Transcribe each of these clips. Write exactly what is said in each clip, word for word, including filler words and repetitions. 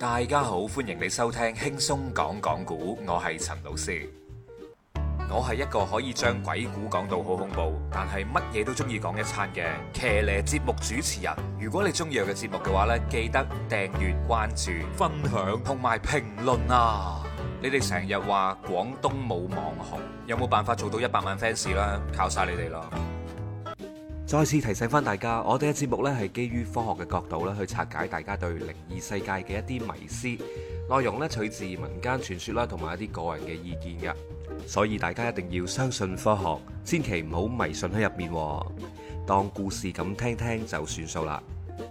大家好，歡迎你收聽輕鬆講講古，我係陳老師。我係一個可以將鬼故講到好恐怖，但係乜嘢都中意講一餐嘅騎呢節目主持人。如果你中意我嘅節目嘅話呢，記得訂閱、關注、分享同埋評論啊！你哋成日話廣東冇網紅，有冇辦法做到一百萬 fans 啦？靠晒你哋咯！再次提醒翻大家，我哋嘅節目呢係基於科學嘅角度咧去拆解大家對靈異世界嘅一啲迷思，內容呢取自民間傳說啦，同埋一啲個人嘅意見嘅，所以大家一定要相信科學，千祈唔好迷信喺入面，當故事咁聽聽就算數啦。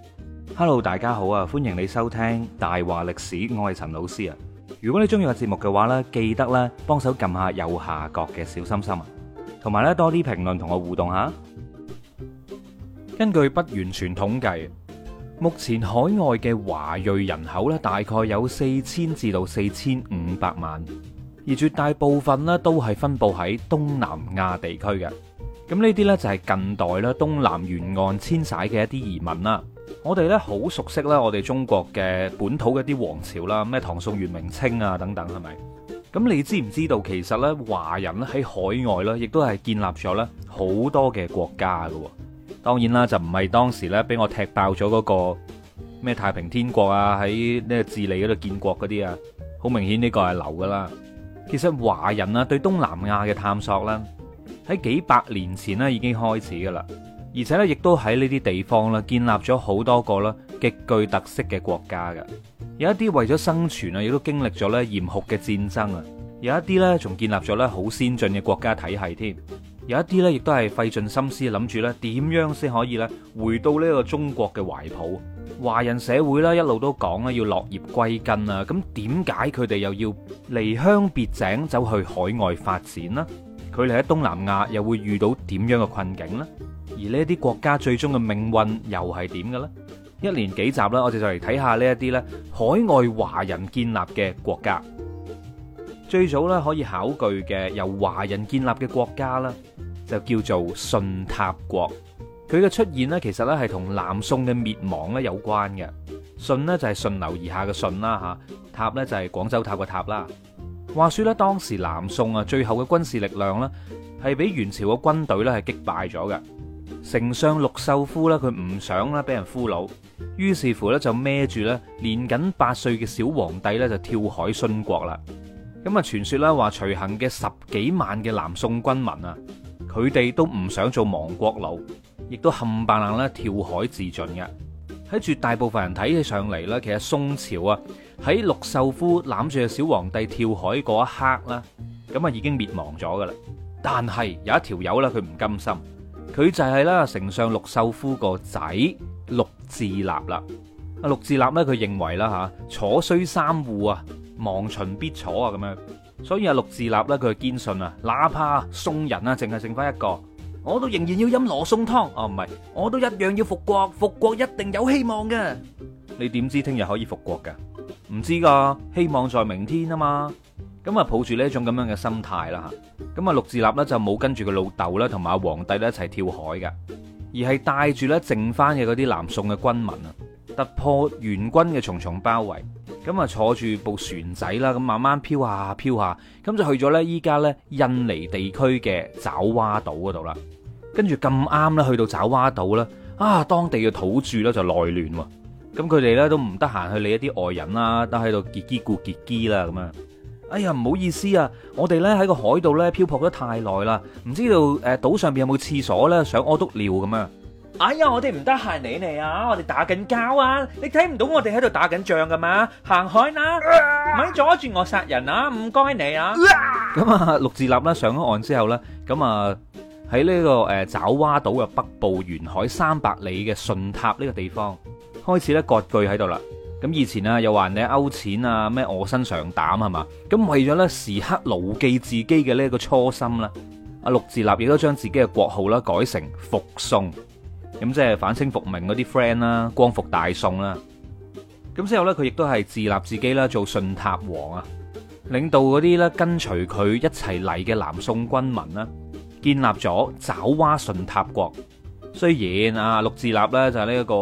Hello， 大家好啊，歡迎你收聽大話歷史，我係陳老師啊。如果你中意個節目嘅話呢，記得咧幫手撳下右下角嘅小心心啊，同埋咧多啲評論同我互動下。根據不完全統計，目前海外嘅華裔人口咧大概有四千至到四千五百萬，而絕大部分咧都係分布喺東南亞地區嘅。咁呢啲呢，就係近代咧東南沿岸遷徙嘅一啲移民啦。我哋咧好熟悉啦，我哋中國嘅本土嘅一啲王朝啦，咩唐宋元明清啊等等，係咪？咁你知唔知道其實咧華人咧喺海外咧，亦都係建立咗咧好多嘅國家㗎喎。當然啦，就唔係當時咧俾我踢爆咗嗰個咩太平天國啊，喺呢個智利嗰度建國嗰啲啊，好明顯呢個係流噶啦。其實華人啊對東南亞嘅探索啦，喺幾百年前咧已經開始噶啦，而且咧亦都喺呢啲地方啦建立咗好多個啦極具特色嘅國家嘅。有一啲為咗生存啊，亦都經歷咗咧嚴酷嘅戰爭啊，有一啲咧仲建立咗咧好先進嘅國家體系添。有一啲咧，亦都係費盡心思諗住咧，點樣先可以咧回到呢個中國嘅懷抱。華人社會咧一路都講咧要落葉歸根啊，咁點解佢哋又要離鄉別井走去海外發展呢？佢哋喺東南亞又會遇到點樣嘅困境呢？而呢啲國家最終嘅命運又係點嘅咧？一連幾集啦，我哋就嚟睇下呢一啲咧海外華人建立嘅國家。最早咧可以考據嘅由華人建立嘅國家啦，就叫做順塔國。佢嘅出現呢，其實咧係同南宋嘅滅亡咧有關嘅。順呢就係順流而下嘅順啦吓，塔呢就係廣州塔個塔啦。話說咧，當時南宋啊最後嘅軍事力量呢，係俾元朝嘅軍隊咧係擊敗咗嘅。丞相陸秀夫咧佢唔想咧俾人俘虜，於是乎咧就孭住咧年僅八歲嘅小皇帝咧就跳海殉國啦。咁啊，傳說咧話隨行嘅十幾萬嘅南宋軍民啊，佢哋都唔想做亡國奴，亦都冚唪唥咧跳海自盡嘅。喺絕大部分人睇起上嚟咧，其實宋朝啊喺陸秀夫攬住嘅小皇帝跳海嗰一刻啦，咁啊已經滅亡咗噶啦。但係有一條友咧，佢唔甘心，佢就係啦丞相陸秀夫個仔陸自立啦。啊，陸自立咧，佢認為啦吓，楚雖三戶啊，亡秦必楚啊，咁樣，所以啊，陸自立咧，佢堅信啊，哪怕宋人啊，淨係剩翻一個，我都仍然要飲羅宋湯。哦，唔係，我都一樣要復國，復國一定有希望嘅。你點知聽日可以復國噶？唔知噶，希望在明天啊嘛。咁啊，抱住呢一種咁樣嘅心態啦吓，咁啊，陸自立咧就冇跟住個老豆啦，同埋阿皇帝咧一齊跳海嘅，而係帶住咧剩翻嘅嗰啲南宋嘅軍民啊，突破元軍嘅重重包圍。咁啊，坐住部船仔啦，咁慢慢飄下飄下，咁就去咗呢依家呢印尼地區嘅爪哇島嗰度啦。跟住咁啱咧，去到爪哇島啦，啊，當地嘅土著咧就內亂喎。咁佢哋咧都唔得閒去理一啲外人啦，都喺度結基固結基啦咁樣。哎呀，唔好意思啊，我哋咧喺個海度咧漂泊得太耐啦，唔知道誒島上邊有冇廁所咧，想屙督尿咁樣。哎呀，我哋唔得閒理你啊，我哋打緊交啊，你睇唔到我哋喺度打緊仗噶嘛？行開啦，咪阻住我殺人啊！唔該你啊。咁啊，陸自立啦上咗岸之後咧，咁啊喺呢個誒爪哇島嘅北部沿海三百里嘅順塔呢個地方開始咧割據喺度啦。咁以前啊又話人哋勾錢啊，咩臥薪嘗膽係嘛？咁為咗咧時刻牢記自己嘅呢個初心啦，阿陸自立亦都將自己嘅國號啦改成復宋。咁即係反清復明嗰啲 friend 啦，光復大宋啦。咁之後咧，佢亦都係自立自己啦，做順塔王啊，領導嗰啲咧跟隨佢一齊嚟嘅南宋軍民啦，建立咗爪哇順塔國。雖然啊陸自立咧就係呢一個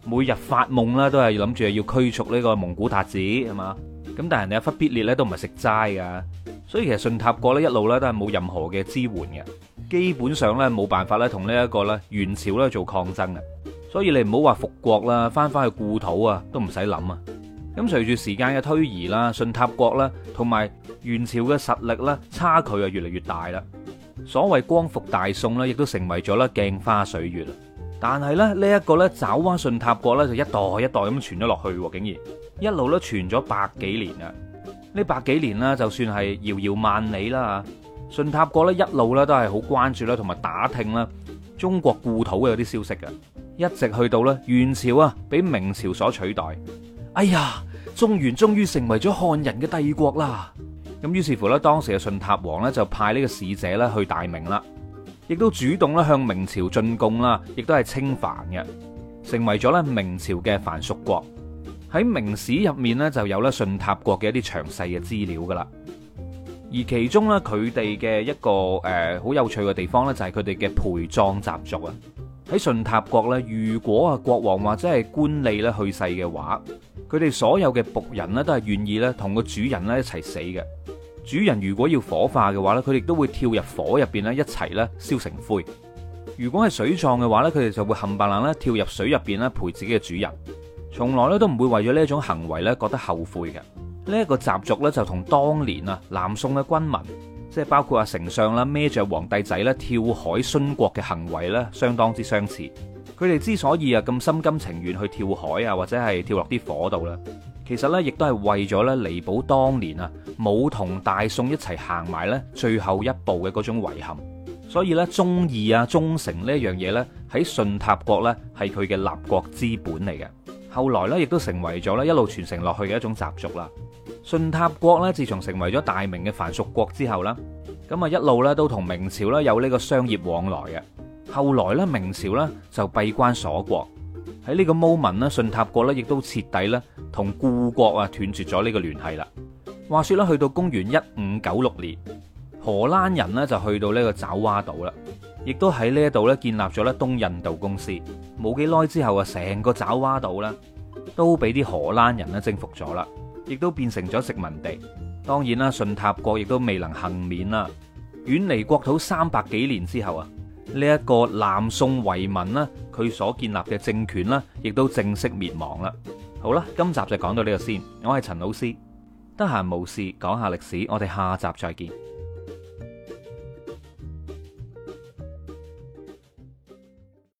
每日發夢啦，都係諗住要驅逐呢個蒙古韃子係嘛？咁但係人哋阿忽必烈咧都唔係食齋噶，所以其實順塔國咧一路咧都係冇任何嘅支援嘅，基本上咧冇辦法咧同呢一個咧元朝咧做抗爭嘅。所以你唔好話復國啦，翻翻去故土啊都唔使諗啊。咁隨住時間嘅推移啦，順塔國啦同埋元朝嘅實力咧差距啊越嚟越大啦。所謂光復大宋咧，亦都成為咗咧鏡花水月啦。但係咧呢一個咧爪哇順塔國咧就一代一代咁傳咗落去，竟然一路都傳咗百幾年啊！呢百幾年啦，就算係遙遙萬里啦，順塔國咧一路咧都係好關注啦，同埋打聽啦中國故土嘅有啲消息嘅，一直去到咧元朝啊俾明朝所取代。哎呀，中原終於成為咗漢人嘅帝國啦！咁於是乎咧，當時嘅順塔王咧就派呢個使者咧去大明啦，亦都主動咧向明朝進貢啦，亦都係稱藩嘅，成為咗咧明朝嘅藩屬國。喺明史入面咧就有咧順塔國嘅一啲詳細嘅資料噶啦，而其中咧佢哋嘅一個誒好有趣嘅地方咧就係佢哋嘅陪葬習俗啊。喺順塔國咧，如果啊國王或者係官吏咧去世嘅話，佢哋所有嘅僕人咧都係願意咧同個主人咧一齊死嘅。主人如果要火化嘅話咧，佢哋都會跳入火入邊咧一齊咧燒成灰。如果係水葬嘅話咧，佢哋就會冚唪唥咧跳入水入邊咧陪自己嘅主人，從來咧都唔會為咗呢一種行為咧覺得後悔嘅。呢一個習俗咧就同當年啊南宋嘅軍民，即係包括阿丞相啦孭住皇帝仔咧跳海殉國嘅行為咧相當之相似。佢哋之所以啊咁心甘情願去跳海啊或者係跳落啲火度咧，其實咧亦都係為咗咧彌補當年啊冇同大宋一齊行埋咧最後一步嘅嗰種遺憾。所以咧忠義啊忠誠呢一樣嘢咧喺順塔國咧係佢嘅立國之本嚟嘅。後來咧亦都成為咗咧一路傳承落去嘅一種習俗啦。順塔國咧自從成為咗大明嘅藩屬國之後啦，咁啊一路咧都同明朝咧有呢個商業往來嘅。後來咧明朝咧就閉關鎖國，喺呢個 moment 咧順塔國咧亦都徹底咧同故國啊斷絕咗呢個聯繫啦。話說咧去到公元一五九六年，荷蘭人咧就去到呢個爪哇島啦，亦都喺呢一度咧建立咗咧東印度公司。冇幾耐之後啊，成個爪哇島咧都俾啲荷蘭人咧征服咗啦，亦都變成咗殖民地。當然啦，順塔國亦都未能幸免啦。遠離國土三百幾年之後啊，呢一個南宋遺民啦，佢所建立嘅政權啦，亦都正式滅亡啦。好啦，今集就講到呢度先。我係陳老師，得閒無事講下歷史，我哋下集再見。